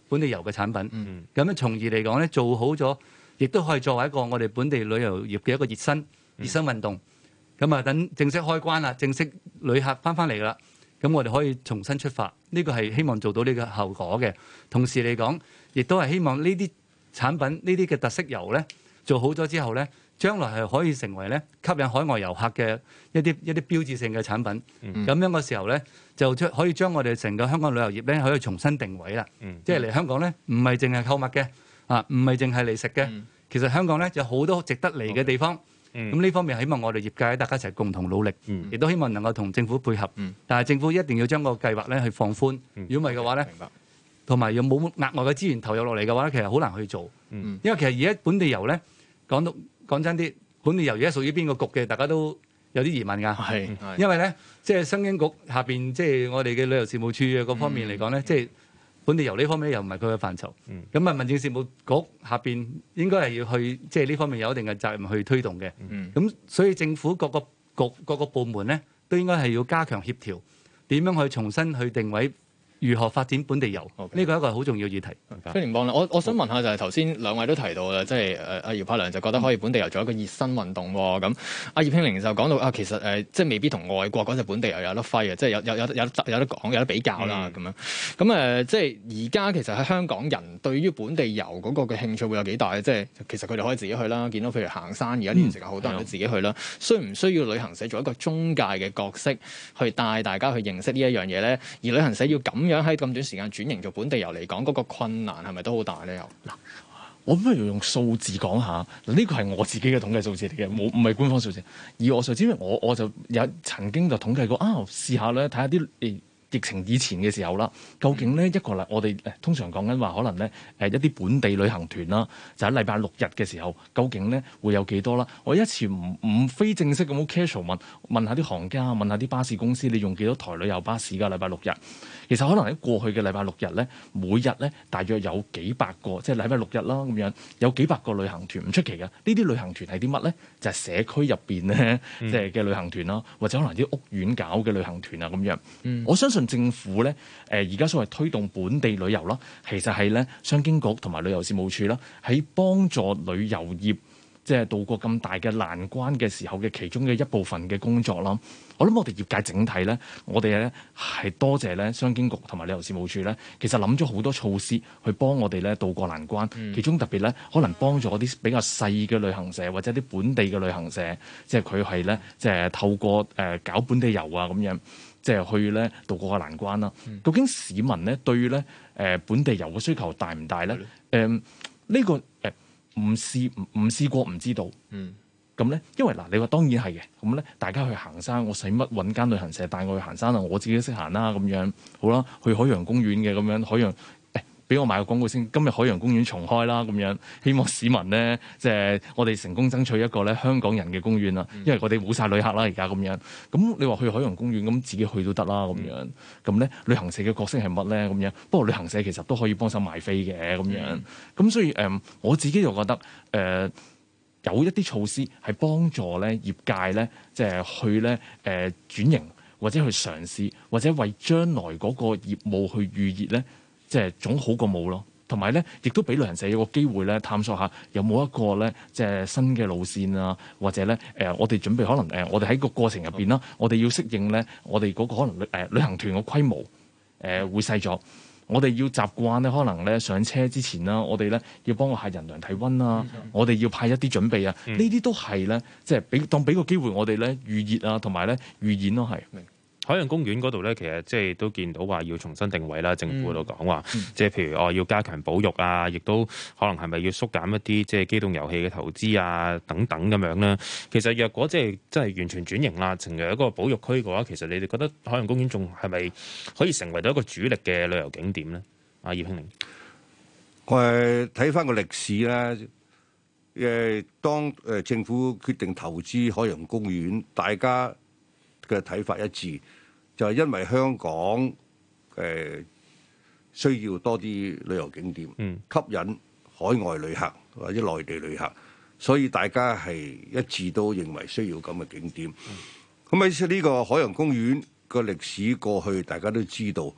本地遊嘅產品。咁、 嗯、 樣從而嚟講咧，做好咗，亦都可以作為一個我哋本地旅遊業嘅一個熱身熱身運動。咁啊，等正式開關啦，正式旅客翻翻嚟啦，咁我哋可以重新出發。呢個係希望做到呢個後果嘅。同時嚟講，亦都係希望呢啲產品、呢啲嘅特色遊咧，做好咗之後咧，將來係可以成為咧吸引海外遊客嘅一啲一啲標誌性嘅產品。咁、嗯、樣嘅時候咧，就將可以將我哋成個香港旅遊業咧可以重新定位啦。嗯、即係嚟香港咧，唔係淨係購物嘅，啊，唔係淨係嚟食嘅。嗯、其實香港咧有好多值得嚟嘅地方。咁呢、嗯、方面希望我哋業界大家一齊共同努力，亦、嗯、都希望能夠同政府配合。嗯、但係政府一定要將個計劃咧去放寬。如果唔係嘅話咧，同埋又冇額外嘅資源投入落嚟嘅話咧，其實好難去做。嗯、因為其實而家本地遊咧講到講真啲，本地遊而家屬於邊個局嘅，大家都有啲疑問㗎。係，因為咧即係商經局下邊即係我哋嘅旅遊事務處嘅嗰方面嚟講咧，即係、嗯。本地遊呢方面又唔係佢嘅範疇，咁啊、嗯、民政事務局下邊應該係要去即係呢方面有一定嘅責任去推動嘅，咁、嗯、所以政府各個局各個部門咧都應該係要加強協調，點樣去重新去定位。如何發展本地遊？呢個係一個好重要議題。 非常棒啦！我我想問下就係頭先兩位都提到啦，即係誒阿姚柏良就覺得可以本地遊做一個熱身運動喎。咁阿葉慶玲就講到啊，其實誒、呃、即係未必同外國嗰隻本地遊有得揮啊，即係有有有有有得講有得比較啦咁、嗯、樣。咁誒、呃、即係而家其實喺香港人對於本地遊嗰個嘅興趣會有幾大咧？即係其實佢哋可以自己去啦。見到譬如行山，而家呢段時間好多人都自己去啦。嗯、需唔需要旅行社做一個中介嘅角色去帶大家去認識呢一樣嘢咧？而旅行社要咁樣喺咁短時間轉型做本地遊嚟講，嗰、那個困難係咪都好大咧？又嗱，我不如用數字講下，嗱呢個係我自己嘅統計數字嚟嘅，冇唔係官方數字。而我所知，我我就有曾經就統計過啊，試下咧睇下啲誒疫情以前嘅時候啦，究竟咧一個禮我哋誒通常講緊話，可能咧誒一啲本地旅行團啦，就喺禮拜六日嘅時候，究竟咧會有幾多啦？我一次唔唔非正式咁好 casual 問問下啲行家，問下啲巴士公司，你用幾多台旅遊巴士㗎？禮拜六日？其實可能喺過去嘅禮拜六日咧，每日咧大約有幾百個，即係禮拜六日啦咁樣，有幾百個旅行團唔出奇嘅。呢啲旅行團係啲乜咧？就係、是、社區入邊咧，即係嘅旅行團啦，或者可能啲屋苑搞嘅旅行團啊咁樣。嗯、我相信政府咧，誒而家所謂推動本地旅遊啦，其實係咧商經局同埋旅遊事務處啦，喺幫助旅遊業即係渡過咁大嘅難關嘅時候嘅其中嘅一部分嘅工作啦。我諗我哋業界整體咧，我哋咧係多謝咧商經局同埋旅遊事務處咧，其實諗咗好多措施去幫我哋咧渡過難關。嗯、其中特別咧，可能幫助啲比較細嘅旅行社或者啲本地嘅旅行社，即係佢係咧即係透過誒、呃、搞本地遊啊咁樣，即係去咧渡過個難關啦。嗯、究竟市民咧對咧誒、呃、本地遊嘅需求大唔大咧？誒呢、嗯呃這個誒唔試唔唔試過唔知道。嗯。咁咧，因為嗱，你話當然係嘅，咁咧，大家去行山，我使乜揾間旅行社帶我去行山啊？我自己都識行啦，咁樣好啦，去海洋公園嘅咁樣，海洋誒，俾、欸、我買個廣告先。今日海洋公園重開啦，咁樣希望市民咧，即係我哋成功爭取一個咧香港人嘅公園啦。因為我哋冇晒旅客啦，而家咁樣。咁你話去海洋公園，咁自己去都得啦，咁樣。咁咧，旅行社嘅角色係乜咧？咁樣。不過旅行社其實都可以幫手賣飛嘅，咁樣。咁所以誒、呃，我自己就覺得誒。呃有一啲措施係幫助咧業界咧，即係去咧誒轉型，或者去嘗試，或者為將來嗰個業務去預熱咧，即係總好過冇咯。同埋咧，亦都俾旅行社有個機會咧，探索下有冇一個咧，即係新嘅路線啊，或者咧誒、呃，我哋準備可能誒、呃，我哋喺個過程入邊啦，我哋要適應咧，我哋嗰個可能誒、呃、旅行團嘅規模誒、呃、會細咗。我哋要習慣咧，可能咧上車之前啦，我哋咧要幫個客人量體溫啊，嗯、我哋要派一啲準備啊，呢啲、嗯、都係咧，即係俾當俾個機會我哋咧預熱啊，同埋咧預演咯，係。 海洋公園嗰度咧，其實即係都見到話要重新定位啦。政府度講話，嗯、即係譬如哦要加強保育啊，亦都可能係咪要縮減一啲即係機動遊戲嘅投資啊等等咁樣咧。其實若果即係真係完全轉型啦，成為一個保育區嘅話，其實你哋覺得海洋公園仲係咪可以成為到一個主力嘅旅遊景點咧？阿葉慶玲， 我係睇翻個歷史咧，誒當誒政府決定投資海洋公園，大家嘅睇法一致。就係因為香港誒、呃、需要多啲旅遊景點，嗯、吸引海外旅客或者內地旅客，所以大家係一致都認為需要咁嘅景點。咁喺呢個海洋公園個歷史過去，大家都知道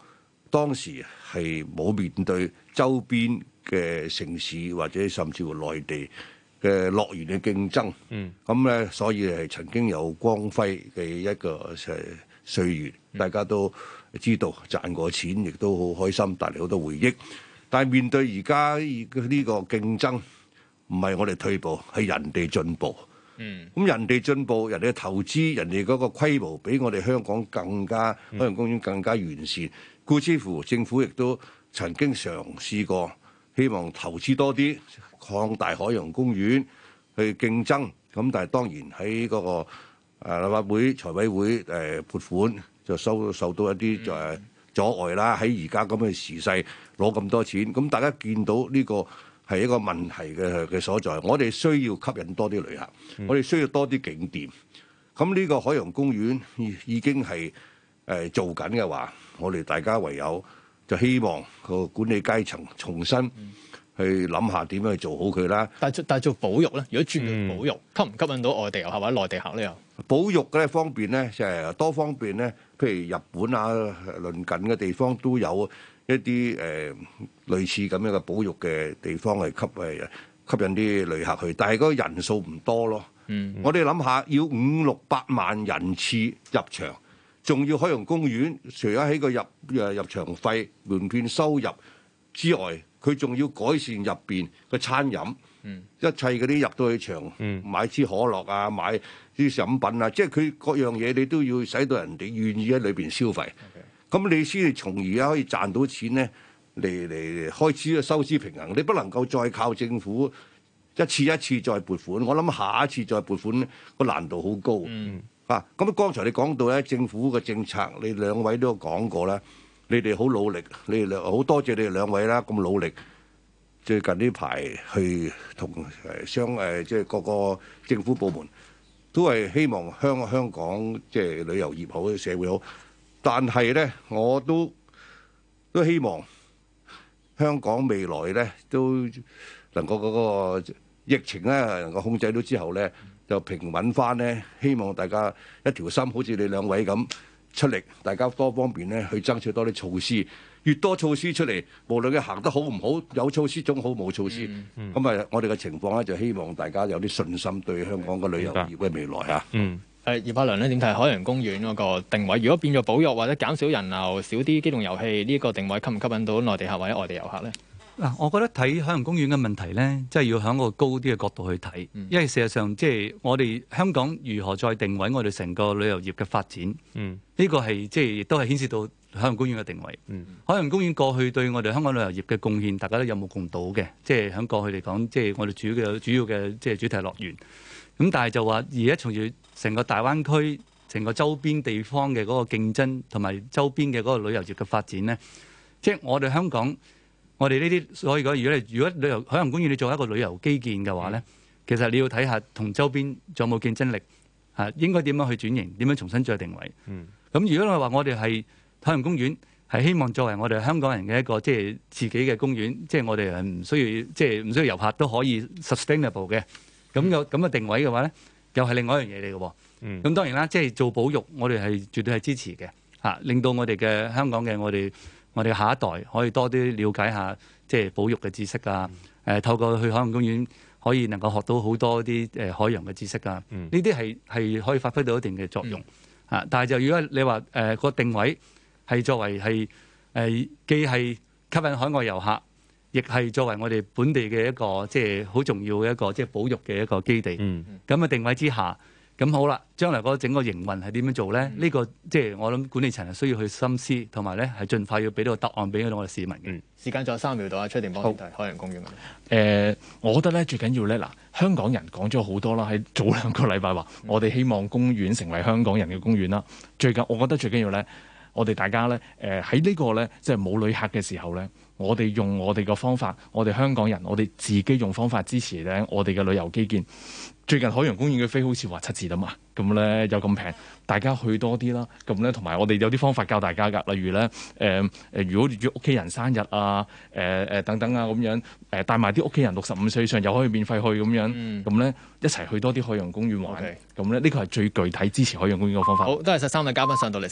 當時係冇面對周邊嘅城市或者甚至乎內地嘅樂園嘅競爭。嗯，咁咧，所以係曾經有光輝嘅一個誒歲月，大家都知道賺過錢，亦都好開心，帶嚟好多回憶。但係面對而家呢個競爭，唔係我哋退步，係人哋進步。嗯，咁人哋進步，人哋嘅投資，人哋嗰個規模比我哋香港更加海洋公園更加完善。故之乎，政府亦都曾經嘗試過，希望投資多啲，擴大海洋公園去競爭。咁但係當然喺嗰個誒立法會財委會誒撥款就收受到一啲就係阻礙啦。喺而家咁嘅時勢攞咁多錢，咁大家見到呢個係一個問題嘅嘅所在。我哋需要吸引多啲旅客，我哋需要多啲景點。咁呢個海洋公園已經係誒做緊嘅話，我哋大家唯有就希望個管理階層重新去諗下點樣去做好佢啦。 但係但係做保育咧，如果轉做保育，吸唔吸引到外地遊客或者內地客咧？又保育咧方面咧，就係多方面咧，譬如日本啊，鄰近嘅地方都有一啲誒、呃、類似咁樣嘅保育嘅地方係吸誒吸引啲旅客去，但係嗰個人數唔多咯。嗯，我哋諗下，要五六百萬人次入場，仲要海洋公園，除咗喺個入誒入場費、門票收入之外，佢仲要改善入邊嘅餐飲。嗯，一切嗰啲入到去場，嗯、買支可樂啊，買啲飲品啊，即係佢各樣嘢你都要使到人哋願意喺裏邊消費。咁 Okay. 你先至從而家可以賺到錢咧，嚟嚟開支收支平衡。你不能夠再靠政府一次一次再撥款。我諗下一次再撥款個難度好高。嗯、啊，咁剛才你講到咧，政府嘅政策，你兩位都有講過啦。你哋好努力，你哋兩好多謝你哋兩位啦，咁努力。最近呢排去同誒相誒即係各個政府部門都係希望香香港即係旅遊業好，社會好。但係咧，我都都希望香港未來咧都能夠嗰個疫情咧能夠控制到之後咧就平穩翻咧。希望大家一條心，好似你兩位咁出力，大家多方面咧去爭取多啲措施。越多措施出嚟，無論佢行得好唔好，有措施總好，冇措施。咁啊、嗯，嗯、我哋嘅情況咧，就希望大家有啲信心對香港嘅旅遊業嘅未來嚇。 嗯，誒葉柏良咧點睇海洋公園嗰個定位？如果變咗保育或者減少人流、少啲機動遊戲，呢、這、一個定位吸唔吸引到內地客或者外地遊客咧？ 嗱，我覺得睇海洋公園嘅問題咧，即係要喺個高啲嘅角度去睇，嗯、因為事實上即係我哋香港如何再定位我哋成個旅遊業嘅發展，呢、嗯、個係即係亦都係牽涉到海洋公園嘅定位。嗯、海洋公園過去對我哋香港旅遊業嘅貢獻，大家都有目共睹嘅。即係喺過去嚟講，即係我哋主要嘅主要嘅即係主題樂園。咁但係就話而家從住成個大灣區、成個周邊地方嘅嗰個競爭同埋周邊嘅嗰個旅遊業嘅發展咧，即係我哋香港。我哋呢啲，所以講，如果你如果旅遊海洋公園你做一個旅遊基建嘅話咧，嗯、其實你要睇下同周邊仲有冇競爭力，嚇應該點樣去轉型，點樣重新再定位。咁、嗯、如果你話我哋係海洋公園，係希望作為我哋香港人嘅一個即係自己嘅公園，即係我哋係唔需要即係唔需要遊客都可以 sustainable 嘅。咁有咁嘅定位嘅話咧，又係另外一樣嘢嚟嘅。咁、嗯、當然啦，即係做保育，我哋係絕對係支持嘅，嚇令到我哋嘅香港嘅我哋。我哋下一代可以多啲了解下即係保育嘅知識啊！誒、嗯，透過去海洋公園可以能夠學到好多啲誒海洋嘅知識啊！呢啲係係可以發揮到一定嘅作用啊！嗯、但係就如果你話誒個定位係作為係誒、呃、既係吸引海外遊客，亦係作為我哋本地嘅一個即係好重要嘅一個即係保育嘅一個基地。咁嘅、嗯、定位之下。咁好啦，將來嗰整個營運係點樣做咧？呢、嗯、個即係我諗管理層係需要去深思，同埋咧係盡快要俾到個答案俾我哋市民嘅。嗯，時間仲有三秒到啊，崔定邦點睇海洋公園嘅？誒、 呃，我覺得咧最緊要咧嗱，香港人講咗好多啦，喺早兩個禮拜話，嗯、我哋希望公園成為香港人嘅公園啦。最近我覺得最緊要咧，我哋大家咧誒喺呢個咧即係冇旅客嘅時候咧，我哋用我哋嘅方法，我哋香港人，我哋自己用方法支持咧我哋嘅旅遊基建。最近海洋公園嘅飛好似話七折啊嘛，咁咧又咁平，大家去多啲啦。咁咧同埋我哋有啲方法教大家㗎，例如咧誒誒，如果約屋企人生日啊，誒、呃、誒等等啊咁樣，誒帶埋啲屋企人六十五歲以上又可以免費去咁樣，咁咧、嗯、一齊去多啲海洋公園玩。咁咧呢個係最具體支持海洋公園嘅方法。 好，多謝晒三位嘉賓上到嚟。